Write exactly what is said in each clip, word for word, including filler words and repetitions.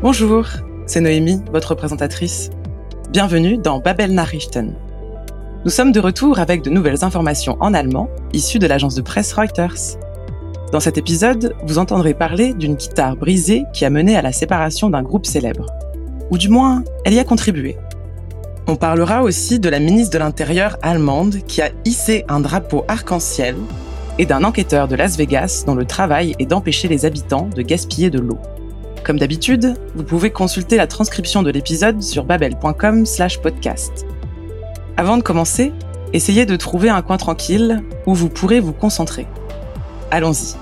Bonjour, c'est Noémie, votre présentatrice. Bienvenue dans Babel Nachrichten. Nous sommes de retour avec de nouvelles informations en allemand, issues de l'agence de presse Reuters. Dans cet épisode, vous entendrez parler d'une guitare brisée qui a mené à la séparation d'un groupe célèbre. Ou du moins, elle y a contribué. On parlera aussi de la ministre de l'Intérieur allemande qui a hissé un drapeau arc-en-ciel et d'un enquêteur de Las Vegas dont le travail est d'empêcher les habitants de gaspiller de l'eau. Comme d'habitude, vous pouvez consulter la transcription de l'épisode sur babel point com slash podcast. Avant de commencer, essayez de trouver un coin tranquille où vous pourrez vous concentrer. Allons-y.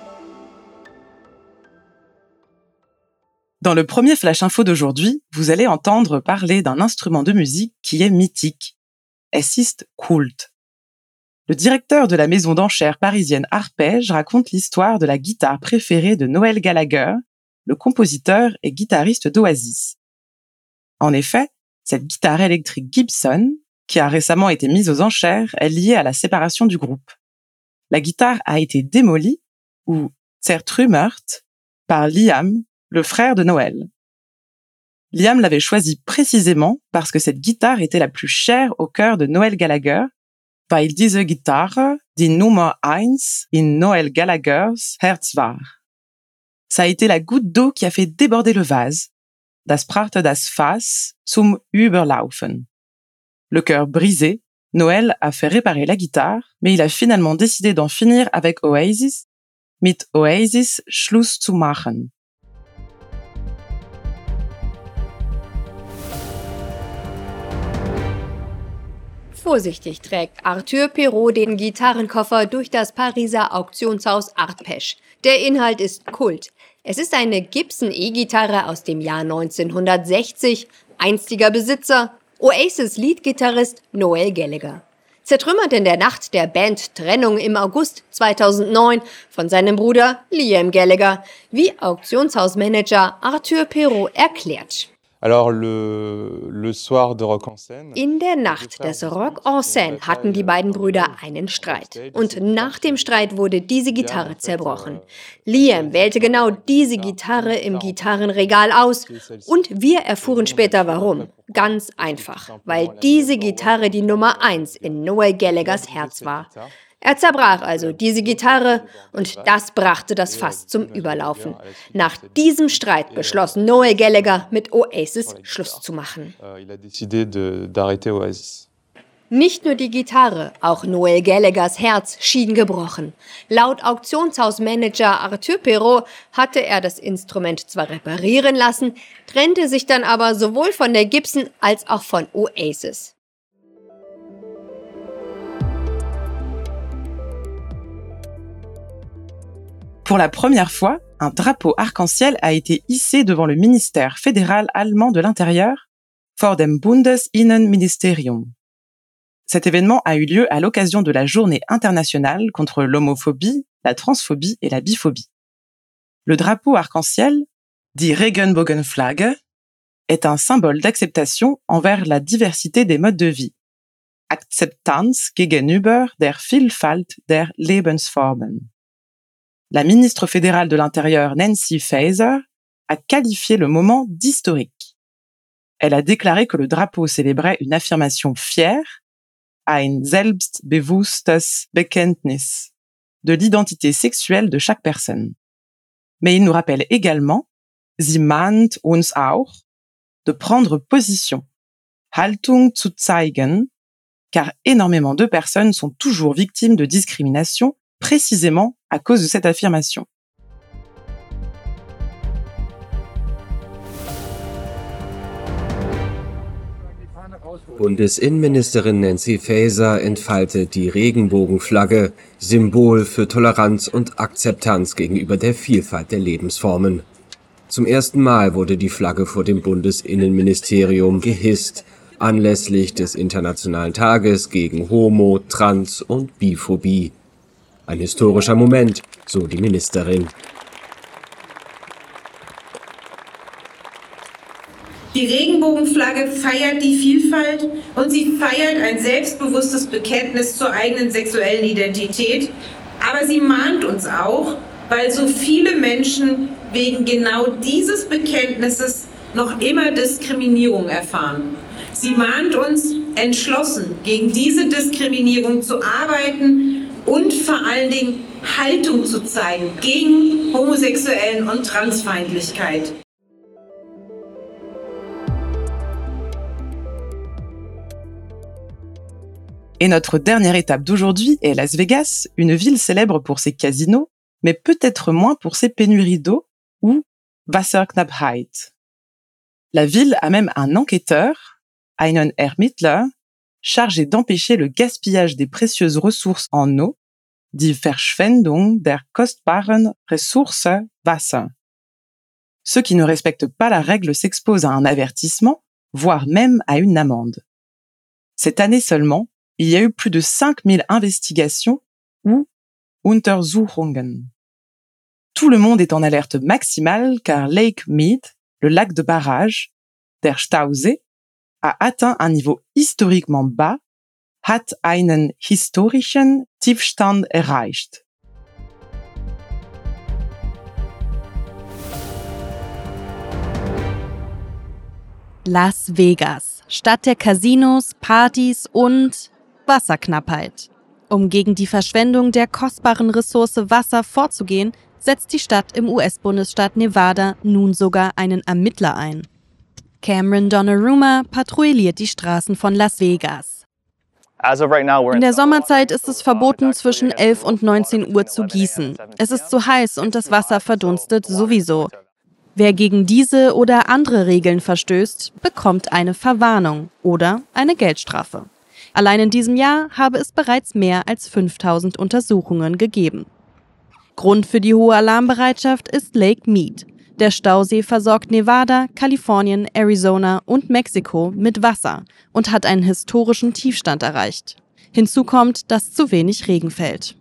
Dans le premier Flash Info d'aujourd'hui, vous allez entendre parler d'un instrument de musique qui est mythique. Es ist Kult. Le directeur de la maison d'enchères parisienne Arpège raconte l'histoire de la guitare préférée de Noel Gallagher, le compositeur et guitariste d'Oasis. En effet, cette guitare électrique Gibson, qui a récemment été mise aux enchères, est liée à la séparation du groupe. La guitare a été démolie, ou zertrümmert, par Liam, le frère de Noel. Liam l'avait choisie précisément parce que cette guitare était la plus chère au cœur de Noel Gallagher, weil diese Gitarre die Nummer eins in Noel Gallaghers Herz war. Ça a été la goutte d'eau qui a fait déborder le vase. Das brachte das Fass zum Überlaufen. Le cœur brisé, Noel a fait réparer la guitare, mais il a finalement décidé d'en finir avec Oasis, mit Oasis Schluss zu machen. Vorsichtig trägt Arthur Pirot den Gitarrenkoffer durch das Pariser Auktionshaus Arpège. Der Inhalt ist Kult. Es ist eine Gibson E-Gitarre aus dem Jahr neunzehnhundertsechzig, einstiger Besitzer, Oasis-Leadgitarrist Noel Gallagher. Zertrümmert in der Nacht der Band Trennung im August zweitausendneun von seinem Bruder Liam Gallagher, wie Auktionshausmanager Arthur Pirot erklärt. Alors le, le soir de Rock en Seine. In der Nacht des Rock en Seine hatten die beiden Brüder einen Streit. Und nach dem Streit wurde diese Gitarre zerbrochen. Liam wählte genau diese Gitarre im Gitarrenregal aus und wir erfuhren später warum. Ganz einfach, weil diese Gitarre die Nummer eins in Noel Gallaghers Herz war. Er zerbrach also diese Gitarre und das brachte das Fass zum Überlaufen. Nach diesem Streit beschloss Noel Gallagher, mit Oasis Schluss zu machen. Nicht nur die Gitarre, auch Noel Gallaghers Herz schien gebrochen. Laut Auktionshausmanager Arthur Pirot hatte er das Instrument zwar reparieren lassen, trennte sich dann aber sowohl von der Gibson als auch von Oasis. Pour la première fois, un drapeau arc-en-ciel a été hissé devant le ministère fédéral allemand de l'Intérieur, vor dem Bundesinnenministerium. Cet événement a eu lieu à l'occasion de la journée internationale contre l'homophobie, la transphobie et la biphobie. Le drapeau arc-en-ciel, dit Regenbogenflagge, est un symbole d'acceptation envers la diversité des modes de vie. Akzeptanz gegenüber der Vielfalt der Lebensformen. La ministre fédérale de l'Intérieur Nancy Faeser a qualifié le moment d'historique. Elle a déclaré que le drapeau célébrait une affirmation fière, ein selbstbewusstes Bekenntnis, de l'identité sexuelle de chaque personne. Mais il nous rappelle également, sie mahnt uns auch, de prendre position, Haltung zu zeigen, car énormément de personnes sont toujours victimes de discrimination précisément à cause de cette affirmation. Bundesinnenministerin Nancy Faeser entfaltet die Regenbogenflagge, Symbol für Toleranz und Akzeptanz gegenüber der Vielfalt der Lebensformen. Zum ersten Mal wurde die Flagge vor dem Bundesinnenministerium gehisst, anlässlich des Internationalen Tages gegen Homo-, Trans- und Biphobie. Ein historischer Moment, so die Ministerin. Die Regenbogenflagge feiert die Vielfalt und sie feiert ein selbstbewusstes Bekenntnis zur eigenen sexuellen Identität. Aber sie mahnt uns auch, weil so viele Menschen wegen genau dieses Bekenntnisses noch immer Diskriminierung erfahren. Sie mahnt uns, entschlossen gegen diese Diskriminierung zu arbeiten und vor allen Dingen Haltung zu zeigen gegen Homosexuellen- und Transfeindlichkeit. Et notre dernière étape d'aujourd'hui est Las Vegas, une ville célèbre pour ses casinos, mais peut-être moins pour ses pénuries d'eau, ou Wasserknappheit. La ville a même un enquêteur, einen Ermittler, chargé d'empêcher le gaspillage des précieuses ressources en eau, die Verschwendung der kostbaren Ressource Wasser. Ceux qui ne respectent pas la règle s'exposent à un avertissement, voire même à une amende. Cette année seulement, il y a eu plus de cinq mille investigations ou Untersuchungen. Tout le monde est en alerte maximale car Lake Mead, le lac de barrage, der Stausee, a atteint un niveau historiquement bas, hat einen historischen Tiefstand erreicht. Las Vegas, Stadt der Casinos, Partys und Wasserknappheit. Um gegen die Verschwendung der kostbaren Ressource Wasser vorzugehen, setzt die Stadt im U S-Bundesstaat Nevada nun sogar einen Ermittler ein. Cameron Donnarumma patrouilliert die Straßen von Las Vegas. In der Sommerzeit ist es verboten, zwischen elf und neunzehn Uhr zu gießen. Es ist zu heiß und das Wasser verdunstet sowieso. Wer gegen diese oder andere Regeln verstößt, bekommt eine Verwarnung oder eine Geldstrafe. Allein in diesem Jahr habe es bereits mehr als fünftausend Untersuchungen gegeben. Grund für die hohe Alarmbereitschaft ist Lake Mead. Der Stausee versorgt Nevada, Kalifornien, Arizona und Mexiko mit Wasser und hat einen historischen Tiefstand erreicht. Hinzu kommt, dass zu wenig Regen fällt.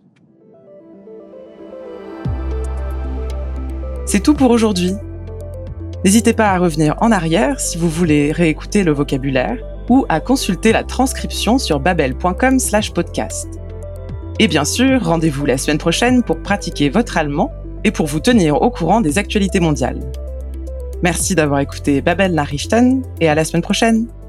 C'est tout pour aujourd'hui. N'hésitez pas à revenir en arrière si vous voulez réécouter le vocabulaire ou à consulter la transcription sur babel point com slash podcast. Et bien sûr, rendez-vous la semaine prochaine pour pratiquer votre allemand et pour vous tenir au courant des actualités mondiales. Merci d'avoir écouté Babel Nachrichten et à la semaine prochaine.